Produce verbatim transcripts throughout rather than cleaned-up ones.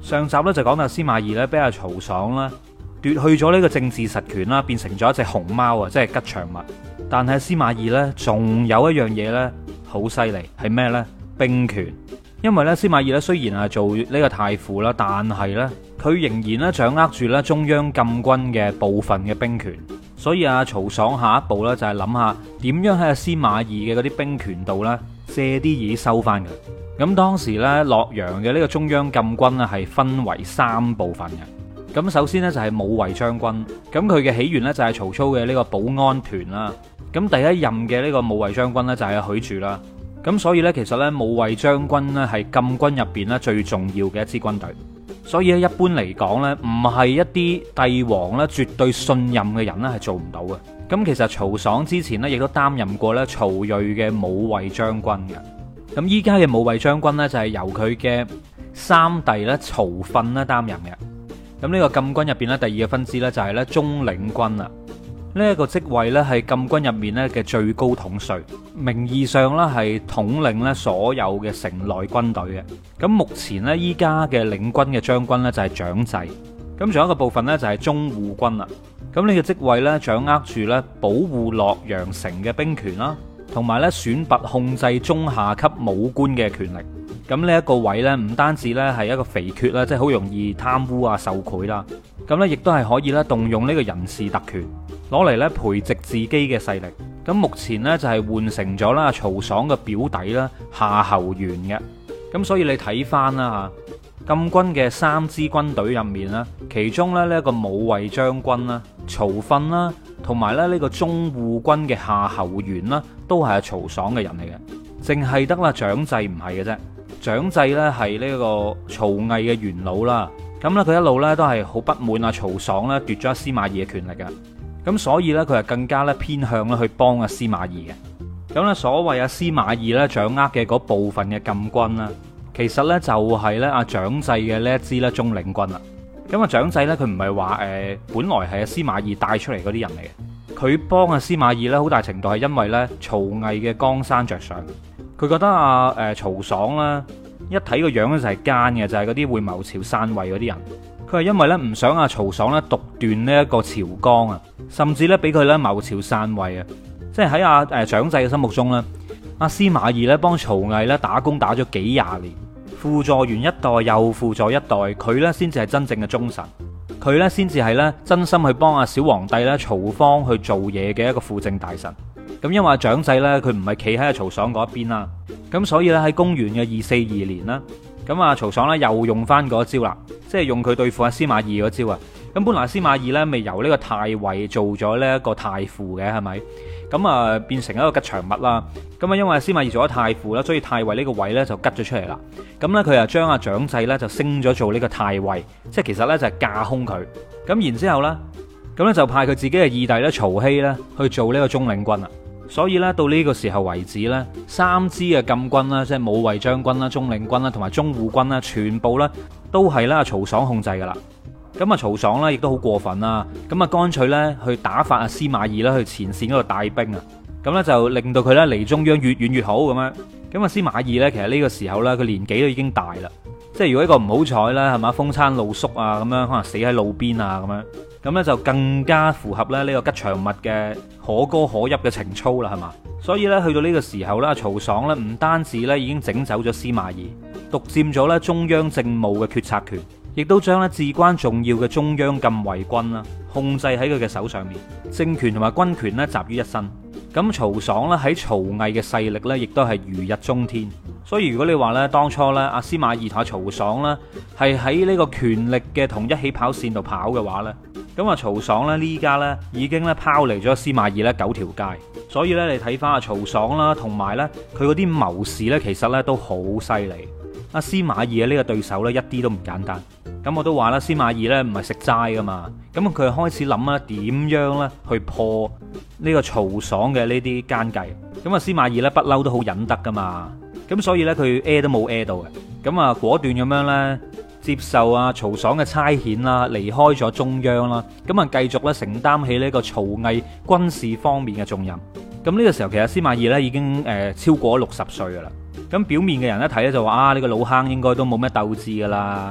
上集咧就講到司馬懿咧俾阿曹爽啦奪去咗呢個政治實權啦，變成咗一隻熊貓啊，即係吉祥物。但係司馬懿咧仲有一樣嘢咧好犀利，係咩呢？兵權。因為咧司馬懿咧雖然係做呢個太傅啦，但係咧佢仍然咧掌握住咧中央禁軍嘅部分嘅兵權。所以阿曹爽下一步咧就係諗下點樣喺阿司馬懿嘅嗰啲兵權度咧借啲嘢收翻嘅。咁當時咧洛陽嘅呢個中央禁軍咧係分為三部分嘅。咁首先呢，就係武衛將軍，咁佢嘅起源呢，就係曹操嘅呢個保安團啦。咁第一任嘅呢個武衛將軍呢，就係許褚啦。咁所以呢，其實呢，武衛將軍呢，係禁軍入邊呢最重要嘅一支軍隊。所以咧一般嚟講呢，唔係一啲帝王呢絕對信任嘅人呢，係做唔到嘅。咁其實曹爽之前呢，亦都擔任過呢曹睿嘅武衛將軍嘅。咁依家嘅武衛將軍呢，就係由佢嘅三弟咧曹訓咧擔任嘅。咁呢個禁軍入邊咧，第二個分支咧就係咧中領軍啦。呢一個職位咧係禁軍入面咧嘅最高統帥，名義上咧係統領咧所有嘅城內軍隊嘅。咁目前咧依家嘅領軍嘅將軍咧就係蔣濟。咁仲有一個部分咧就係中護軍啦。咁呢個職位咧掌握住咧保護洛陽城嘅兵權啦，同埋咧選拔控制中下級武官嘅權力。咁呢一個位呢，唔單止呢係一個肥缺啦，即係好容易貪污啊、受賄啦。咁呢亦都係可以咧動用呢個人事特權，攞嚟咧培植自己嘅勢力。咁目前呢，就係換成咗啦曹爽嘅表弟啦夏侯玄嘅。咁所以你睇翻啦吓，禁軍嘅三支軍隊入面啦，其中咧呢一個武衛將軍啦、曹訓啦，同埋咧呢個中護軍嘅夏侯玄啦，都係曹爽嘅人嚟嘅，淨係得啦蔣濟唔係嘅啫。蔣濟咧係呢個曹魏嘅元老啦，咁咧佢一路咧都係好不滿啊曹爽咧奪咗阿司馬懿嘅權力嘅，咁所以咧佢係更加咧偏向咧去幫阿司馬懿嘅。咁咧所謂阿司馬懿咧掌握嘅嗰部分嘅禁軍啦，其實咧就係咧阿蔣濟嘅呢一支咧中領軍啦。咁啊蔣濟咧佢唔係話誒本來係阿司馬懿帶出嚟嗰啲人嚟嘅，佢幫阿司馬懿咧好大程度係因為咧曹魏嘅江山着想。佢覺得啊，誒、呃、曹爽啦，一睇個樣咧就係奸嘅，就係嗰啲會謀朝篡位嗰啲人。佢係因為咧唔想阿曹爽咧獨斷呢一個朝綱啊，甚至咧俾佢咧謀朝篡位啊。即係喺阿誒蔣濟嘅心目中咧，阿司馬懿咧幫曹魏咧打工打咗幾廿年，輔助完一代又輔助一代，佢咧先至係真正嘅忠臣，佢咧先至係咧真心去幫阿小皇帝咧曹芳去做嘢嘅一個輔政大臣。咁因為阿蔣濟咧，佢唔係企喺阿曹爽嗰一邊啦，咁所以咧喺公元嘅二四二年啦，咁啊曹爽咧又用翻嗰招啦，即係用佢對付阿司馬懿嗰招啊。咁本來司馬懿咧未由呢個太尉做咗呢一個太傅嘅，係咪？咁啊變成一個吉祥物啦。咁啊因為司馬懿做咗太傅啦，所以太尉呢個位咧就吉咗出嚟啦。咁咧佢啊將阿蔣濟咧就升咗做呢個太尉，即係其實咧就係架空佢。咁然之後咧，咁咧就派佢自己嘅二弟咧曹丕咧去做呢個中領軍啦。所以咧，到呢個時候為止咧，三支嘅禁軍啦，即係武衛將軍啦、中領軍啦，同埋中護軍啦，全部咧都係啦曹爽控制噶啦。咁啊，曹爽咧亦都好過分啦，咁啊，乾脆咧去打發阿司馬懿啦去前線嗰度帶兵啊，咁咧就令到佢咧離中央越遠越好咁樣。咁啊，司馬懿咧其實呢個時候咧，佢年紀都已經大啦，即係如果一個唔好彩啦，係嘛，風餐露宿啊，咁樣可能死喺路邊啊，咁樣。咁咧就更加符合咧呢個吉祥物嘅可歌可泣嘅情操啦，係嘛？所以咧去到呢個時候咧，曹爽咧唔單止咧已經整走咗司馬懿，獨佔咗咧中央政務嘅決策權，亦都將咧至關重要嘅中央禁衛軍啦控制喺佢嘅手上面，政權同埋軍權咧集於一身。咁曹爽咧喺曹魏嘅勢力咧，亦都係如日中天。所以如果你話咧當初咧阿司馬懿同阿曹爽咧係喺呢個權力嘅同一起跑線度跑嘅話咧，咁啊曹爽咧呢家咧已經咧拋離咗司馬懿咧九條街。所以咧你睇翻阿曹爽啦，同埋咧佢嗰啲謀士咧，其實咧都好犀利。阿司馬懿嘅呢個對手咧一啲都唔簡單。咁我都話啦，司馬懿咧唔係食齋噶嘛，咁佢開始諗啦點樣咧去破呢個曹爽嘅呢啲奸計。咁啊司馬懿咧不嬲都好忍得噶嘛，咁所以咧佢 A 都冇 A 到嘅，咁啊果斷咁樣咧接受啊曹爽嘅差遣啦，離開咗中央啦，咁啊繼續咧承擔起呢個曹魏軍事方面嘅重任。咁呢個時候其實司馬懿咧已經誒超過六十歲噶啦，咁表面嘅人一睇咧就話啊呢個老坑應該都冇咩鬥志噶啦。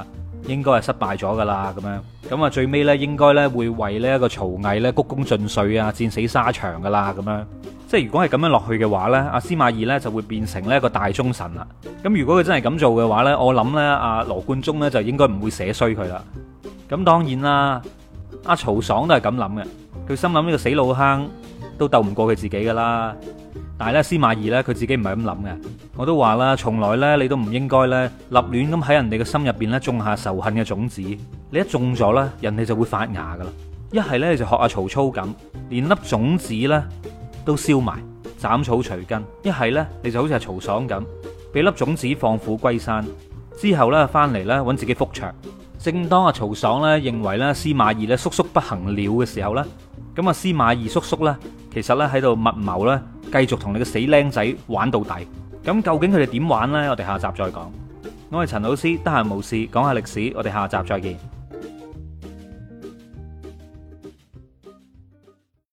應該係失敗咗噶啦，咁樣咁啊最尾呢，應該呢會為呢一個曹魏呢鞠躬盡瘁啊，戰死沙場噶啦，咁樣即係如果係咁樣落去嘅話呢，阿司馬懿呢就會變成呢一個大忠臣啦。咁如果佢真係咁做嘅話呢，我諗呢，阿羅貫中呢就應該唔會寫衰佢啦。咁當然啦，阿曹爽都係咁諗嘅，佢心諗呢個死老坑都鬥唔過佢自己噶啦。但係咧，司馬懿咧，佢自己唔係咁諗嘅。我都話啦，從來咧，你都唔應該咧立亂咁喺人哋嘅心入邊咧種下仇恨嘅種子。你一種咗咧，人哋就會發芽噶啦。一係咧，你就學阿曹操咁，連粒種子咧都燒埋，斬草除根；一係咧，你就好似阿曹爽咁，俾粒種子放虎歸山，之後咧翻嚟咧揾自己覆巢。正當阿曹爽咧認為咧司馬懿咧叔叔不行了嘅時候咧，咁啊司馬懿叔叔咧其實咧喺度密謀咧，繼續同你個死僆仔玩到底。咁究竟佢哋點玩呢？我哋下集再講。我係陳老師，得閒無事講下歷史，我哋下集再見。